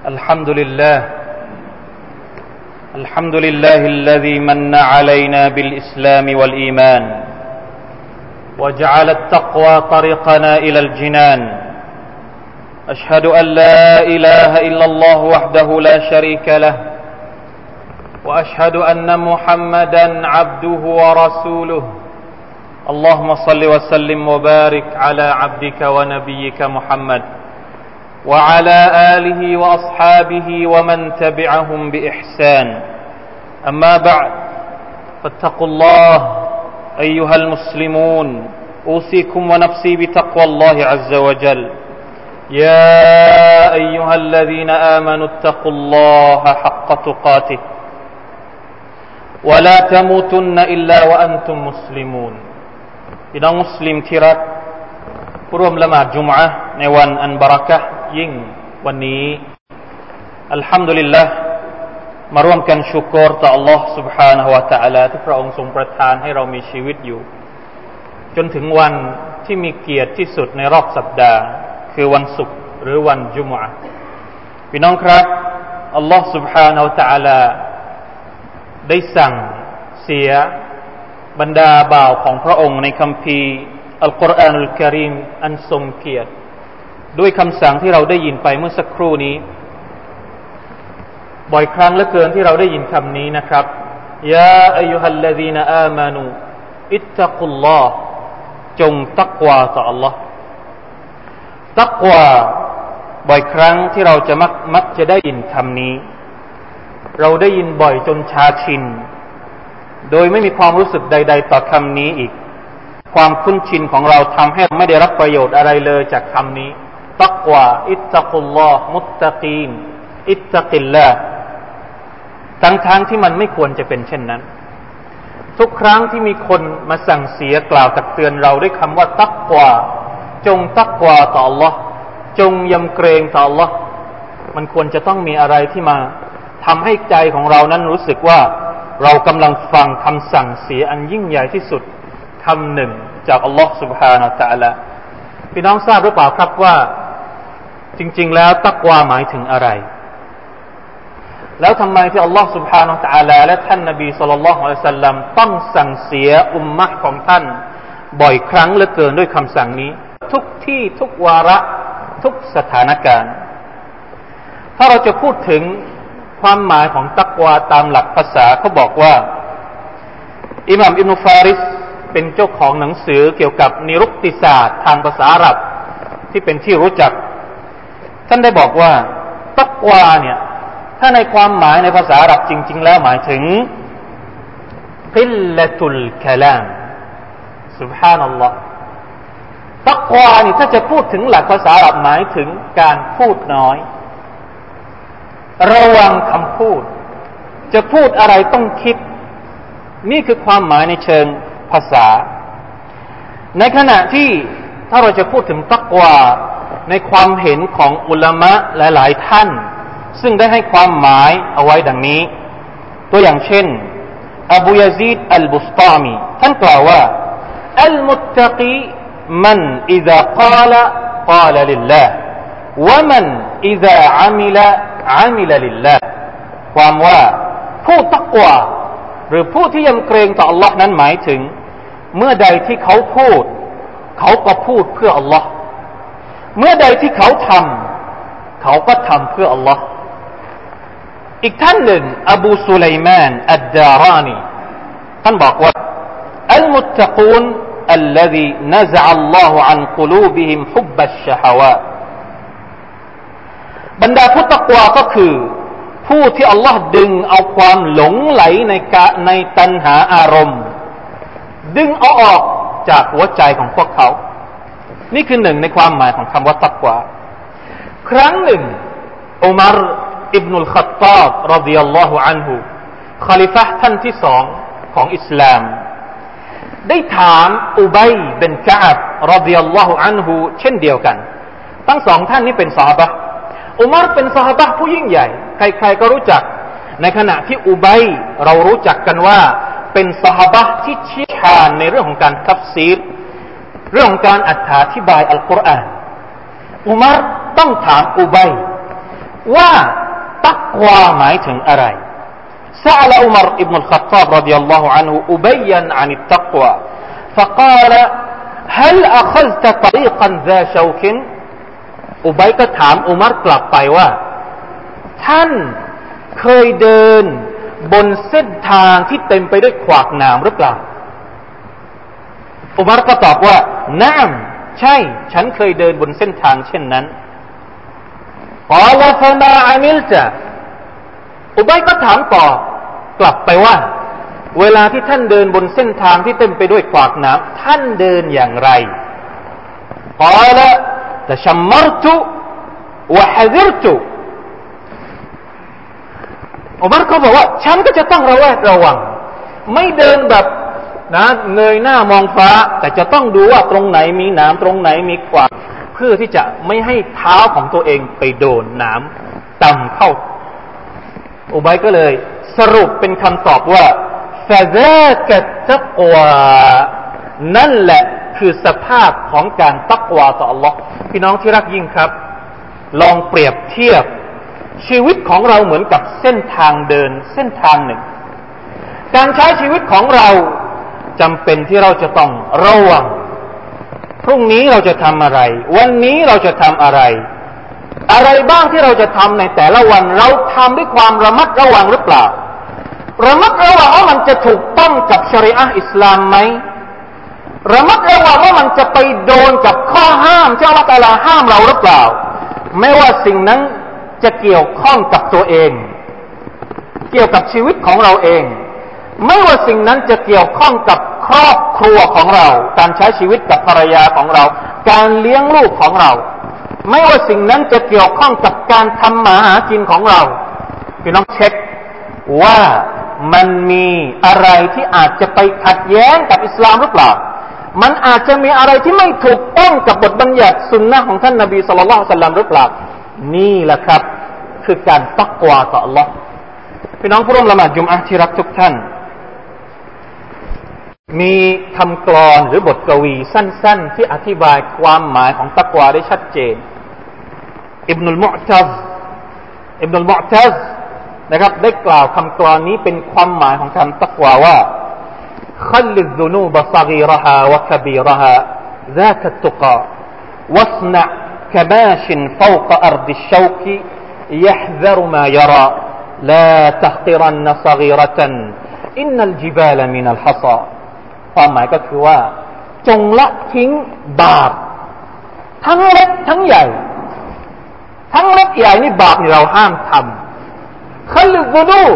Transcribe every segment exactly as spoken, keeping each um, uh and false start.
الحمد لله الحمد لله الذي من علينا بالإسلام والإيمان وجعل التقوى طريقنا إلى الجنان أشهد أن لا إله إلا الله وحده لا شريك له وأشهد أن محمدا عبده ورسوله اللهم صل وسلم وبارك على عبدك ونبيك محمد وعلى آله وأصحابه ومن تبعهم بإحسان أما بعد فاتقوا الله أيها المسلمون أوصيكم ونفسي بتقوى الله عز وجل يا أيها الذين آمنوا اتقوا الله حق تقاته ولا تموتن إلا وأنتم مسلمون พี่น้องมุสลิมที่รักผู้ร่วมละหมาดจุมอะห์ในวันอันบะเราะกะห์ยิ่งวันนี้อัลฮัมดุลิลลาห์มาร่วมกันชุกรต่อ Allah سبحانه และ تعالى ที่พระองค์ทรงประทานให้เรามีชีวิตอยู่จนถึงวันที่มีเกียรติที่สุดในรอบสัปดาห์คือวันศุกร์หรือวันจุมอะห์พี่น้องครับ Allah سبحانه และ تعالى ได้สั่งเสียบรรดาบ่าวของพระองค์ในคัมภีร์อัลกุรอานุลกะรีมอันทรงเกียรติด้วยคำสั่งที่เราได้ยินไปเมื่อสักครู่นี้บ่อยครั้งเหลือเกินที่เราได้ยินคำนี้นะครับยาอัยยูฮัลลซีนอามานูอิตตักุลลอฮ์จงตักวาต่อ Allah ตักวาบ่อยครั้งที่เราจะมักมักจะได้ยินคำนี้เราได้ยินบ่อยจนชาชินโดยไม่มีความรู้สึกใดๆต่อคำนี้อีกความคุ้นชินของเราทำให้ไม่ได้รับประโยชน์อะไรเลยจากคำนี้ตักวาอิตตักุลลอฮ์มุตตะกีนอิตตักิลลาห์ทั้งๆที่มันไม่ควรจะเป็นเช่นนั้นทุกครั้งที่มีคนมาสั่งเสียกล่าวตักเตือนเราด้วยคำว่าตักวาจงตักวาต่อ Allah จงยำเกรงต่อ Allah มันควรจะต้องมีอะไรที่มาทำให้ใจของเรานั้นรู้สึกว่าเรากำลังฟังคำสั่งเสียอันยิ่งใหญ่ที่สุดคำหนึ่งจากอัลลอฮฺ سبحانه และ تعالى พี่น้องทราบหรือเปล่าครับว่าจริงๆแล้วตักวาหมายถึงอะไรแล้วทำไมที่อัลลอฮฺ سبحانه และ تعالى และท่านนบีศ็อลลัลลอฮุอะลัยฮิวะซัลลัมต้องสั่งเสียอุมมะห์ของท่านบ่อยครั้งเหลือเกินด้วยคำสั่งนี้ทุกที่ทุกวาระทุกสถานการณ์ถ้าเราจะพูดถึงความหมายของตักวาตามหลักภาษาเขาบอกว่าอิหม่ามอิบนุฟาริสเป็นเจ้าของหนังสือเกี่ยวกับนิรุกติศาสตร์ทางภาษาอาหรับที่เป็นที่รู้จักท่านได้บอกว่าตักวาเนี่ยถ้าในความหมายในภาษาอาหรับจริงๆแล้วหมายถึงกิลละตุลกะลามซุบฮานัลลอฮ์ตักวานี่ถ้าจะพูดถึงหลักภาษาอาหรับหมายถึงการพูดน้อยระวังคำพูดจะพูดอะไรต้องคิดนี่คือความหมายในเชิงภาษาในขณะที่ถ้าเราจะพูดถึงตักวาในความเห็นของอุลามะหลายๆท่านซึ่งได้ให้ความหมายเอาไว้ดังนี้ตัวอย่างเช่นอบูยะซีดอัลบุสตามีท่านกล่าวว่าอัลมุตตะกีมันอิซากาละกาละลิลลาห์วะมันอิซาอะมิละอามิลลิลลาห์ความว่าผู้ตักวาหรือผู้ที่ยำเกรงต่อ Allah นั้นหมายถึงเมื่อใดที่เขาพูดเขาก็พูดเพื่อ Allah เมื่อใดที่เขาทำเขาก็ทำเพื่อ Allah อีกท่านหนึ่งอบูซุลัยมานอัดดารานีท่านบอกว่าอัลมุตตะกูน الذي نزع الله عن قلوبهم حب الشهواتบรรดาผู้ตักวาก็คือผู้ที่อัลลอฮ์ดึงเอาความหลงไหลในกะในตัณหาอารมณ์ดึงเอาออกจากหัวใจของพวกเขานี่คือหนึ่งในความหมายของคำว่าตักวาครั้งหนึ่งอุมัรอิบนุลขัตตาบรฎิยัลลอฮุอันฮุคอลิฟะห์ท่านที่สองของอิสลามได้ถามอุบัยบินกะอับรฎิยัลลอฮุอันฮุเช่นเดียวกันทั้งสองท่านนี้เป็นซอฮาบะห์อุมัรเป็นซอฮาบะห์ผู้ยิ่งใหญ่ใครๆก็รู้จักในขณะที่อุบัยเรารู้จักกันว่าเป็นซอฮาบะห์ที่เชี่ยวชาญในเรื่องของการตัฟซีรเรื่องของการอธิบายอัลกุรอานอุมัรต้องถามอุบัยว่าตักวาหมายถึงอะไรسأل عمر بن الخطاب رضي الله عنه أبيا عن التقوى فقال هل أخذت طريقا ذا شوك อุบัยก็ถามอุมัรกลับไปว่าท่านเคยเดินบนเส้นทางที่เต็มไปด้วยขวากหนามหรือเปล่าอุมัรก็ตอบว่านะมใช่ฉันเคยเดินบนเส้นทางเช่นนั้นกอลฟะมาอะมิลตะอุบัยก็ถามต่อกลับไปว่าเวลาที่ท่านเดินบนเส้นทางที่เต็มไปด้วยขวากหนามท่านเดินอย่างไรกอลตะชัมมรตุวะฮะซิรตุอุมัรก็บอกว่าฉันก็จะต้องระแวดระวังไม่เดินแบบนะเงยหน้ามองฟ้าแต่จะต้องดูว่าตรงไหนมีหนามตรงไหนมีขวากเพื่อที่จะไม่ให้เท้าของตัวเองไปโดนหนามต่ำเข้าอุบัยก็เลยสรุปเป็นคำตอบว่าฟะซากะตักวานั่นแหละคือสภาพของการตักวาต่อ Allah พี่น้องที่รักยิ่งครับลองเปรียบเทียบชีวิตของเราเหมือนกับเส้นทางเดินเส้นทางหนึ่งการใช้ชีวิตของเราจำเป็นที่เราจะต้องระวังพรุ่งนี้เราจะทำอะไรวันนี้เราจะทำอะไรอะไรบ้างที่เราจะทำในแต่ละวันเราทำด้วยความระมัดระวังหรือเปล่าระมัดระวังว่ามันจะถูกต้องกับชะรีอะห์อิสลามไหมระมัดระวังว่ามันจะไปโดนกับข้อห้ามที่อัลเลาะห์ตะอาลาห้ามเราหรือเปล่าไม่ว่าสิ่งนั้นจะเกี่ยวข้องกับตัวเองเกี่ยวกับชีวิตของเราเองไม่ว่าสิ่งนั้นจะเกี่ยวข้องกับครอบครัวของเราการใช้ชีวิตกับภรรยาของเราการเลี้ยงลูกของเราไม่ว่าสิ่งนั้นจะเกี่ยวข้องกับการทำมาหากินของเราพี่น้องเช็คว่ามันมีอะไรที่อาจจะไปขัดแย้งกับอิสลามหรือเปล่ามันอาจจะมีอะไรที่ไม่ถูกต้องกับบทบัญญัติสุนนะของท่านนบีศ็อลลัลลอฮุอะลัยฮิวะซัลลัมหรือเปล่านี่แหละครับคือการตักวาต่อ Allah พี่น้องผู้ร่วมละหมาดจุมอะห์ที่รักทุกท่านมีคำกลอนหรือบทกวีสั้นๆที่อธิบายความหมายของตักวาได้ชัดเจนอิบนุลมุอ์ตัซอิบนุลมุอ์ตัซนะครับได้กล่าวคำกลอนนี้เป็นความหมายของคำตักวาว่าخل الذنوب صغيرها وكبيرها ذاك التقى واصنع كماش فوق أرض الشوك يحذر ما يرى لا تحقرن صغيرة إن الجبال من الحصى ความหมายก็คือว่าจงละทิ้งบาปทั้งเล็กทั้งใหญ่ทั้งเล็กใหญ่นี่บาปนี่เราห้ามทำ خل الذنوب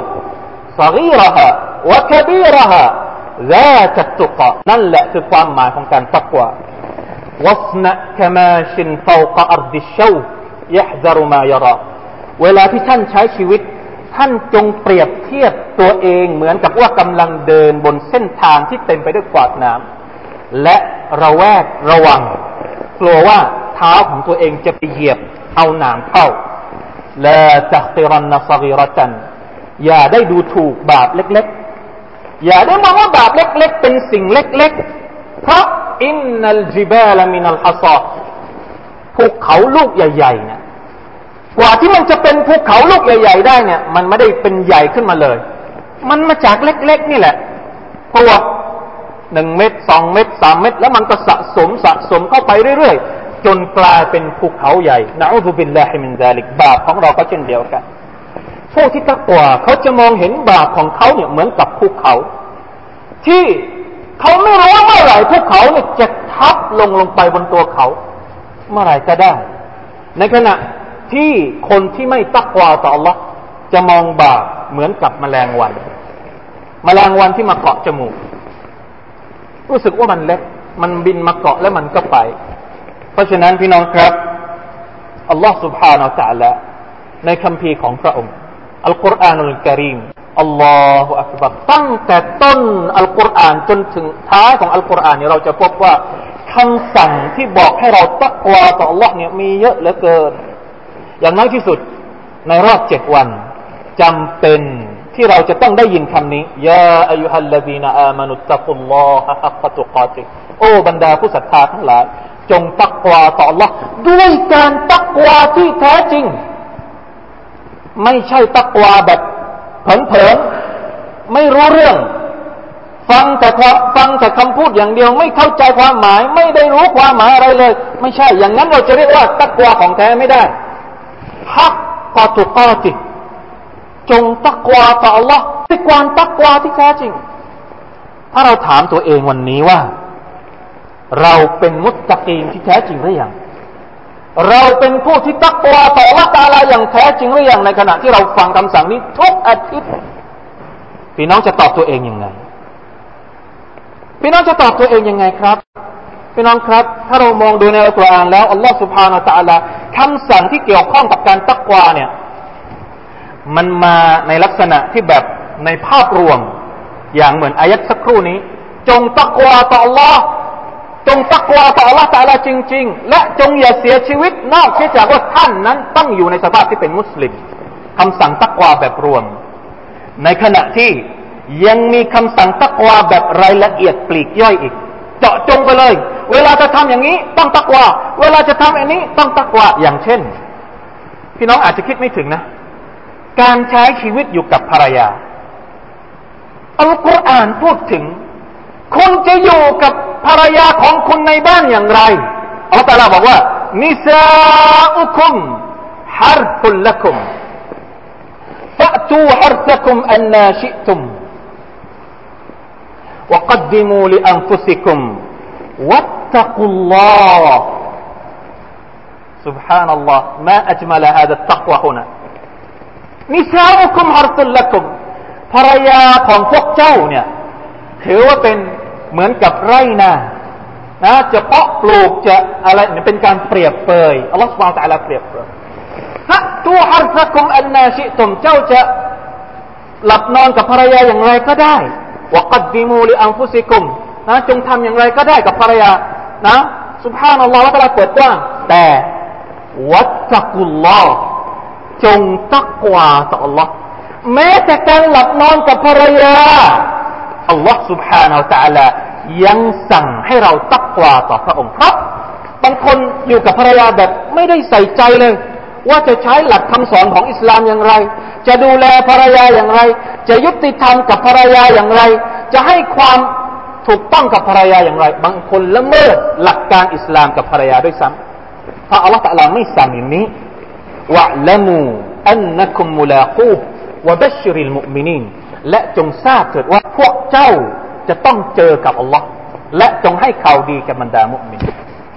صغيرها وكبيرها ذاك التقى นั่นแหละคือความหมายของการตักวา واصنع كماش فوق أرض الشوك يحذر ما يرى เวลาที่ท่านใช้ชีวิตท่านจงเปรียบเทียบตัวเองเหมือนกับว่ากำลังเดินบนเส้นทางที่เต็มไปด้วยขวากหนามและระแวดระวังกลัวว่าเท้าของตัวเองจะไปเหยียบเอาหนามเข้าลาตักติรันซะกีเราะตันอย่าได้ดูถูกบาปเล็กๆอย่าได้มองว่าบาปเล็กๆเป็นสิ่งเล็กๆเพราะอินนัลจิบาลมินัลฮัศอภูเขาลูกใหญ่ๆเนี่ยกว่าที่มันจะเป็นภูเขาลูกใหญ่ๆได้เนี่ยมันไม่ได้เป็นใหญ่ขึ้นมาเลยมันมาจากเล็กๆนี่แหละพวกหนึ่งเม็ดสองเม็ดสามเม็ดแล้วมันก็สะสมสะสมเข้าไปเรื่อยๆจนกลายเป็นภูเขาใหญ่นะอูซุบิลลาฮิมินซาลิกบาปของเราก็เช่นเดียวกันพวกที่ตักวาเขาจะมองเห็นบาปของเขาเนี่ยเหมือนกับภูเขาที่เขาไม่รู้ว่าเมื่อไหร่ภูเขาเนี่ยจะทับลงลงไปบนตัวเขาเมื่อไหร่ก็ได้ในขณะที่คนที่ไม่ตักวาต่อ Allah จะมองบาปเหมือนกับแมลงวันแมลงวันที่มาเกาะจมูกรู้สึกว่ามันเล็กมันบินมาเกาะแล้วมันก็ไปเพราะฉะนั้นพี่น้องครับอัลลอฮฺ سبحانه และ تعالى ในคัมภีร์ของพระองค์อัลกุรอานุลกะรีมอัลลอฮฺอักบัรตั้งแต่ต้นอัลกุรอานจนถึงท้ายของอัลกุรอานเนี่ยเราจะพบว่าคำสั่งที่บอกให้เราตักวาต่อ Allah เนี่ยมีเยอะเหลือเกินอย่างน้อยที่สุดในรอบเจ็ดวันจำเป็นที่เราจะต้องได้ยินคำนี้ยาอัยยูฮัลลซีนาอามานุตตักุลลอฮะฮักกะตุกาติฮ์โอ้บรรดาผู้ศรัทธาทั้งหลายจงตักวาต่อ Allah ด้วยการตักวาที่แท้จริงไม่ใช่ตักวาแบบเผลอๆไม่รู้เรื่องฟังแต่ความฟังแต่คำพูดอย่างเดียวไม่เข้าใจความหมายไม่ได้รู้ความหมายอะไรเลยไม่ใช่อย่างนั้นเราจะเรียกว่าตักวาของแท้ไม่ได้ฮักกอตุกอติจงตักวาต่อ Allah ด้วยความตักวาที่แท้จริงถ้าเราถามตัวเองวันนี้ว่าเราเป็นมุตตะกีนที่แท้จริงหรือยังเราเป็นผู้ที่ตักวาต่อ Allah ตะอาลาอย่างแท้จริงหรือยังในขณะที่เราฟังคำสั่งนี้ทุกอาทิตย์พี่น้องจะตอบตัวเองยังไงพี่น้องจะตอบตัวเองยังไงครับพี่น้องครับถ้าเรามองดูในอัลกุรอานแล้วอัลลอฮฺ سبحانه และ تعالى คำสั่งที่เกี่ยวข้องกับการตักวาเนี่ยมันมาในลักษณะที่แบบในภาพรวมอย่างเหมือนอายัดสักครู่นี้จงตักวาต่อ Allah จงตักวาต่อ Allah ตะอาลาจริงๆและจงอย่าเสียชีวิตนอกจากว่าท่านนั้นต้องอยู่ในสภาพที่เป็นมุสลิมคำสั่งตักวาแบบรวมในขณะที่ยังมีคำสั่งตักวาแบบรายละเอียดปลีกย่อยอีกเจาะจงไปเลยเวลาจะทำอย่างนี้ต้องตักวาเวลาจะทำอันนี้ต้องตักวาอย่างเช่นพี่น้องอาจจะคิดไม่ถึงนะการใช้ชีวิตอยู่กับภรรยาอัลกุรอานพูดถึงคุณจะอยู่กับภรรยาของคุณในบ้านอย่างไรอัลลอฮฺตะอาลาบอกว่านิซาอุคุมฮัรฟุลละกุมฟะตูฮัรซะกุมอันนาชิตุมوقدموا لأنفسكم واتقوا الله سبحان الله ما أجمل هذا التقوى هنا نساؤكم حرث لكم ภรรยาของพวกเจ้าเนี่ยถือว่าเป็นเหมือนกับไร่นานะจะเพาะปลูกจะอะไรเนี่ยเป็นการเปรียบเปยอัลลอฮฺ سبحانه และ تعالى เปรียบเปยฮะตูฮัรซะกุมอันนาชิตุมเจ้าจะหลับนอนกับภรรยาอย่างไรก็ได้วะกัดดิมูลิอันฟุซิกุมนะจงทำอย่างไรก็ได้กับภรรยานะซุบฮานัลลอฮฺวะตะอาลาเปิดกว้างแต่วัตตักุลลอฮ์จงตักวาต่อ Allah แม้แต่การหลับนอนกับภรรยาอัลลอฮ์ سبحانه และ تعالى ยังสั่งให้เราตักวาต่อพระองค์เพราะบางคนอยู่กับภรรยาแบบไม่ได้ใส่ใจเลยว่าจะใช้หลักคำสอนของอิสลามอย่างไรจะดูแลภรรยาอย่างไรจะยุติธรรมกับภรรยาอย่างไรจะให้ความถูกต้องกับภรรยาอย่างไรบางคนละเมิดหลักการอิสลามกับภรรยาด้วยซ้ำเพราะอัลลอฮฺตะอาลาไม่สั่งอย่างนี้วะละมูอันนะกุมมุลากูฮ์วะบัชชิริลมุอ์มินีนและจงทราบเถิดว่าพวกเจ้าจะต้องเจอกับอัลลอฮ์และจงให้ข่าวดีกับบรรดามุอ์มิน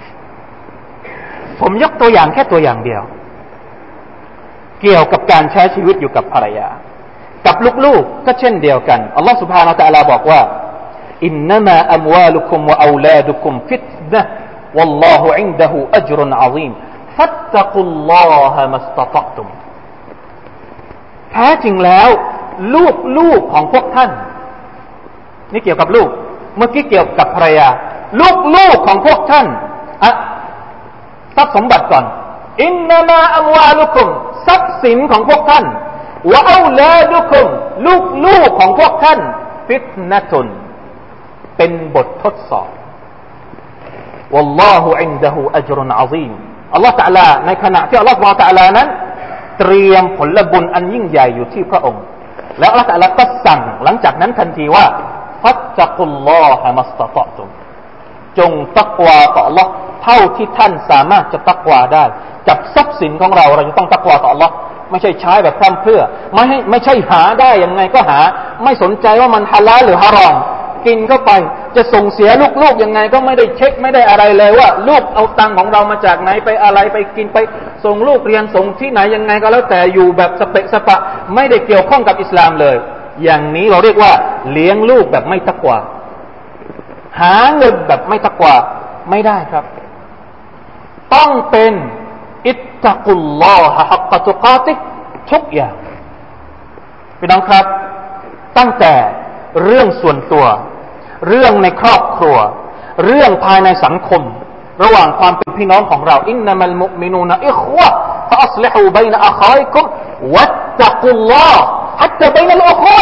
ผมยกตัวอย่างแค่ตัวอย่างเดียวเกี่ยวกับการใช้ชีวิตอยู่กับภรรยากับลูกๆก็เช่นเดียวกันอัลลอฮฺ سبحانه และ تعالى บอกว่าอินนามาอัมวาลุคุมวะเอาลาดุคุมฟิตนะห์วัลลอฮุอินดะฮูอัจรุนอะซีมฟัตตักุลลอฮะมัสตะฏอตุมแท้จริงแล้วลูกๆของพวกท่านนี่เกี่ยวกับลูกเมื่อกี้เกี่ยวกับภรรยาลูกๆของพวกท่านอะทรัพย์สมบัติก่อนอินนามาอัมวาลุคุมทรัพย์สินของพวกท่านวะเอาลาดุคุมลูกๆของพวกท่านฟิตนะตุนเป็นบททดสอบวัลลอฮุอินดะฮูอัจรุนอะซีมอัลลอฮฺตะอาลาในขณะที่อัลลอฮฺซุบฮานะฮูวะตะอาลานั้นเตรียมผลบุญอันยิ่งใหญ่อยู่ที่พระองค์แล้วอัลลอฮฺตะอาลาก็สั่งหลังจากนั้นทันทีว่าฟัตตักุลลอฮะมัสตะฏอตุมจงตักวาต่อ Allah เท่าที่ท่านสามารถจะตักวาได้กับทรัพย์สินของเราเราจะต้องตักวาต่อ Allah ไม่ใช่ใช้แบบพร่ำเพรื่อไม่ให้ไม่ใช่หาได้ยังไงก็หาไม่สนใจว่ามันฮาลาลหรือฮารอมกินเข้าไปจะส่งเสียลูกๆยังไงก็ไม่ได้เช็คไม่ได้อะไรเลยว่าลูกเอาตังค์ของเรามาจากไหนไปอะไรไปกินไปส่งลูกเรียนส่งที่ไหนยังไงก็แล้วแต่อยู่แบบสเปะสปะไม่ได้เกี่ยวข้องกับอิสลามเลยอย่างนี้เราเรียกว่าเลี้ยงลูกแบบไม่ตักวาหาเงินแบบไม่ตักวาไม่ได้ครับต้องเป็นอิตตักุลลอฮะฮักกะตุกาติทุกอย่างพี่น้องครับตั้งแต่เรื่องส่วนตัวเรื่องในครอบครัวเรื่องภายในสังคมระหว่างความเป็นพี่น้องของเราอินนัมัลมุอ์มินูนอิควะฟะอัศลิฮูบัยนะอะคอยกุมวัตตักุลลอฮ์حتى بين الأخوة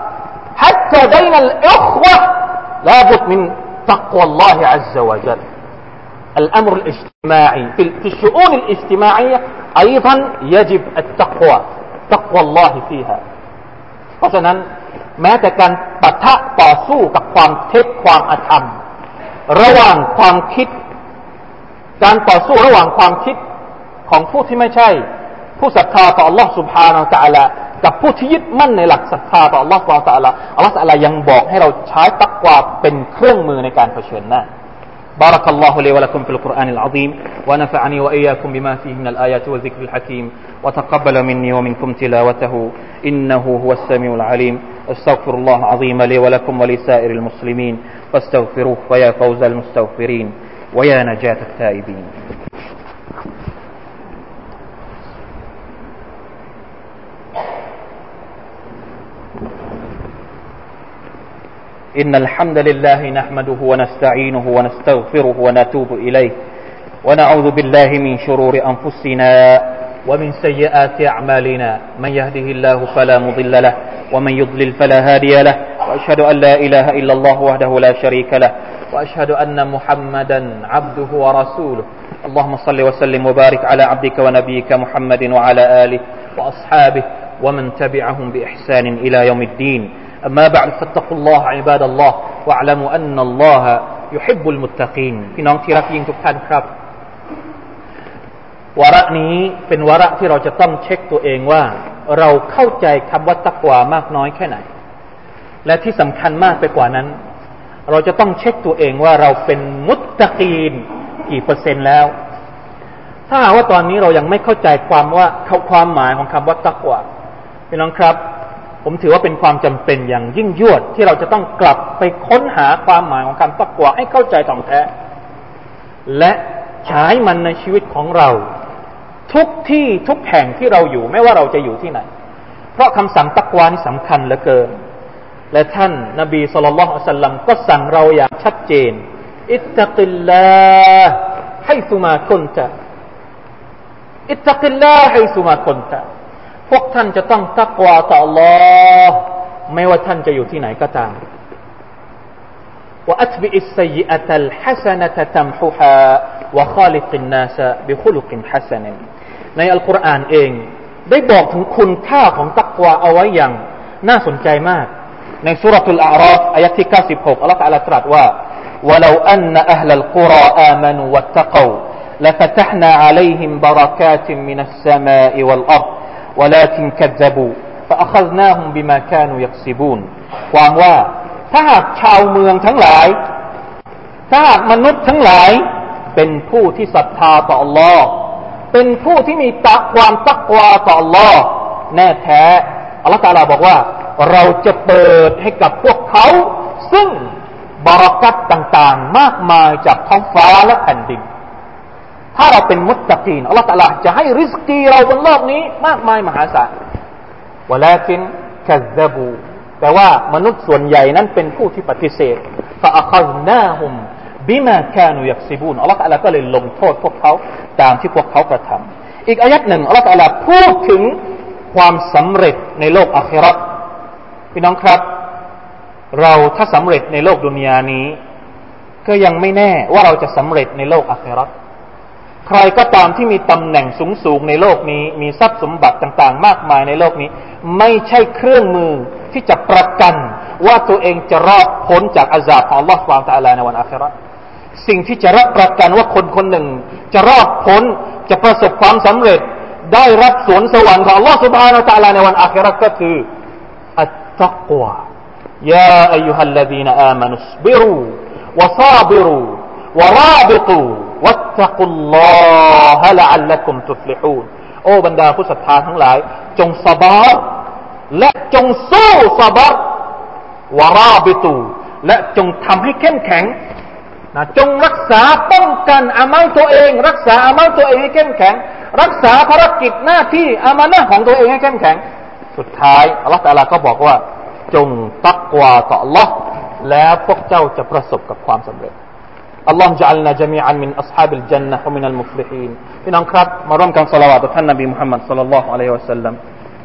حتى بين الأخوة لابد من تقوى الله عز وجل الأمر الاجتماعي في الشؤون الاجتماعية أيضا يجب التقوى ตักวัลลอฮิฟีฮาเพราะฉะนั้นแม้แต่การปะทะต่อสู้กับความเท็จความอธรรมระหว่างความคิดการต่อสู้ระหว่างความคิดของผู้ที่ไม่ใช่ผู้ศรัทธาต่อ Allah سبحانه และ تعالى กับผู้ที่ยึดมั่นในหลักศรัทธาต่อ Allah سبحانه และ تعالى Allah تعالى ยังบอกให้เราใช้ตักวาเป็นเครื่องมือในการเผชิญหน้าبارك الله لي ولكم في القرآن العظيم ونفعني وإياكم بما فيه من الآيات والذكر الحكيم وتقبل مني ومنكم تلاوته إنه هو السميع العليم استغفر الله العظيم لي ولكم ولسائر المسلمين فاستغفروه ويا فوز المستغفرين ويا نجاة التائبين إن الحمد لله نحمده ونستعينه ونستغفره ونتوب إليه ونعوذ بالله من شرور أنفسنا ومن سيئات أعمالنا من يهده الله فلا مضل له ومن يضلل فلا هادي له وأشهد أن لا إله إلا الله وحده لا شريك له وأشهد أن محمدا عبده ورسوله اللهم صل وسلم وبارك على عبدك ونبيك محمد وعلى آله وأصحابه ومن تبعهم بإحسان إلى يوم الدين أما بعد فاتقوا الله عباد الله واعلموا أن الله يحب المتقين พี่น้องที่รักยิ่งทุกท่านครับวาระนี้เป็นวาระที่เราจะต้องเช็คตัวเองว่าเราเข้าใจคำว่าตักวามากน้อยแค่ไหนและที่สำคัญมากไปกว่านั้นเราจะต้องเช็คตัวเองว่าเราเป็นมุตตะกีนกี่เปอร์เซ็นต์แล้วถ้าหากว่าตอนนี้เรายังไม่เข้าใจความว่าความหมายของคำว่าตักวาพี่น้องครับผมถือว่าเป็นความจำเป็นอย่างยิ่งยวดที่เราจะต้องกลับไปค้นหาความหมายของคำตักวาให้เข้าใจถ่องแท้และใช้มันในชีวิตของเราทุกที่ทุกแห่งที่เราอยู่ไม่ว่าเราจะอยู่ที่ไหนเพราะคำสั่งตักวานี่สำคัญเหลือเกินและท่านนบีศ็อลลัลลอฮุอะลัยฮิวะซัลลัมก็สั่งเราอย่างชัดเจนอิตตักิลลาฮ์ไฮซุมาคุนตะอิตตักิลลาฮ์ไฮซุมาคุนตะพวกท่านจะต้องตักวาต่อ Allah ไม่ว่าท่านจะอยู่ที่ไหนก็ตามว่าอัตบิอิสซัยอะตัลฮะซะนะตะตัมฮุฮาวะคอลิกินนาสบิคุลุกินฮะซะนะในอัลกุรอานเองได้บอกถึงคุณค่าของตักวาเอาไว้อย่างน่าสนใจมากในซูเราะตุลอาราฟอายะห์ที่เก้าสิบหกอัลเลาะห์ตะอาลาตรัสว่าวะลาอันนะอะห์ลัลกุรออามานูวัตตะกอละฟะตะห์นาอะลัยฮิมบะเราะกาติมินัสสะมาอิวัลอัรฎولكن كذبوا فأخذناهم بما كانوا يكسبون ความว่าถ้าหากชาวเมืองทั้งหลายถ้าหากมนุษย์ทั้งหลายเป็นผู้ที่ศรัทธาต่อ Allah เป็นผู้ที่มีตักความตักวาต่อ Allah แน่แท้อัลเลาะห์ตะอาลาบอกว่าเราจะเปิดให้กับพวกเขาซึ่งบารอกัตต่างๆมากมายจากท้องฟ้าและแผ่นดินถ้าเราเป็นมุตตะกีนอัลเลาะห์ตะอาลาจะให้ริสกีเราบนโลกนี้มากมายมหาศาลวะลากินกัซซะบูแต่ว่ามนุษย์ส่วนใหญ่นั้นเป็นผู้ที่ปฏิเสธฟะอะคัซนาฮุมบิมาคานูยักซิบูนอัลเลาะห์ตะอาลาก็เลยลงโทษพวกเขาตามที่พวกเขากระทำอีกอายะห์หนึ่งอัลเลาะห์ตะอาลาพูดถึงความสำเร็จในโลกอาคิเราะห์พี่น้องครับเราถ้าสำเร็จในโลกดุนยานี้ก็ยังไม่แน่ว่าเราจะสำเร็จในโลกอาคิเราะห์ใครก็ตามที่มีตำแหน่งสูงๆในโลกนี้มีทรัพย์สมบัติต่างๆมากมายในโลกนี้ไม่ใช่เครื่องมือที่จะประกันว่าตัวเองจะรอดพ้นจากอาซาบของอัลเลาะห์ซุบฮานะฮูวะตะอาลาในวันอาคิเราะห์สิ่งที่จะรับประกันว่าคนคนหนึ่งจะรอดพ้นจะประสบความสำเร็จได้รับสวนสวรรค์ของอัลเลาะห์ซุบฮานะฮูวะตะอาลาในวันอาคิเราะห์ก็คืออัตตักวายาอัยยูฮัลลซีนอามานุสบิรูวะซาบิรูวะราบิตูวัตตะกุลลอฮะละอัลลักุมตุฟลิฮูนโอ้บรรดาผู้ศรัทธาทั้งหลายจงซะบาร์และจงสู้ซะบาร์วะราบิตูและจงทำให้เข้มแข็งนะจงรักษาป้องกันอามัลตัวเองรักษาอามัลตัวเองให้เข้มแข็งรักษาภารกิจหน้าที่อามานะห์ของตัวเองให้เข้มแข็งสุดท้ายอัลเลาะห์ตะอาลาก็บอกว่าจงตักวาต่ออัลเลาะห์แล้วพวกเจ้าจะประสบกับความสำเร็จاللهم اجعلنا جميعا من أصحاب الجنة ومن المفلحين พี่น้องครับมาร่วมกันศอลาวาตต่อท่านนบีมุฮัมมัดศ็อลลัลลอฮุอะลัยฮิวะซัลลัม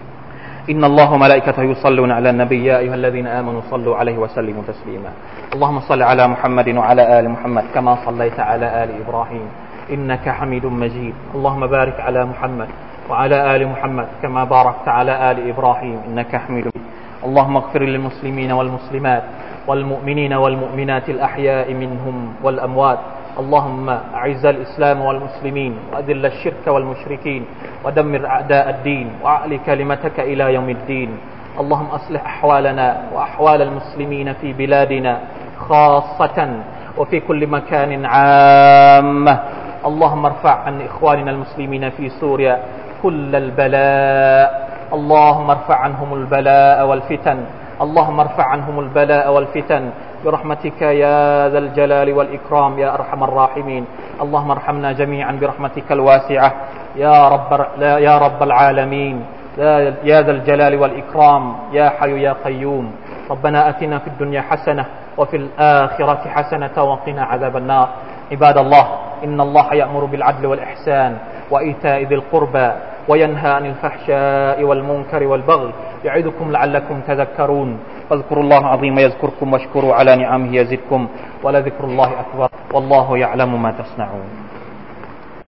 إن الله وملائكته يصلون على النبي يا أيها الذين آمنوا صلوا عليه وسلموا تسليما اللهم صل على محمد وعلى آل محمد كما صليت على آل إبراهيم إنك حميد مجيد اللهم بارك على محمد وعلى آل محمد كما باركت على آل إبراهيم إنك حميد مجيد اللهم اغفر للمسلمين والمسلمات والمؤمنين والمؤمنات الأحياء منهم والأموات اللهم أعز الإسلام والمسلمين وأذل الشرك والمشركين ودمر أعداء الدين وأعل كلمتك إلى يوم الدين اللهم أصلح أحوالنا وأحوال المسلمين في بلادنا خاصة وفي كل مكان عامة اللهم ارفع عن إخواننا المسلمين في سوريا كل البلاء اللهم ارفع عنهم البلاء والفتن اللهم ارفع عنهم البلاء والفتن برحمتك يا ذا الجلال والإكرام يا أرحم الراحمين اللهم ارحمنا جميعا برحمتك الواسعة يا رب يا رب العالمين يا ذا الجلال والإكرام يا حي يا قيوم ربنا آتنا في الدنيا حسنة وفي الآخرة حسنة وقنا عذاب النار عباد الله إن الله يأمر بالعدل والإحسان وإيتاء ذي القربى وينهى عن الفحشاء والمنكر والبغي يعظكم لعلكم تذكرون فاذكروا الله العظيم يذكركم واشكروا على نعمه يزدكم ولذكر الله أكبر والله يعلم ما تصنعون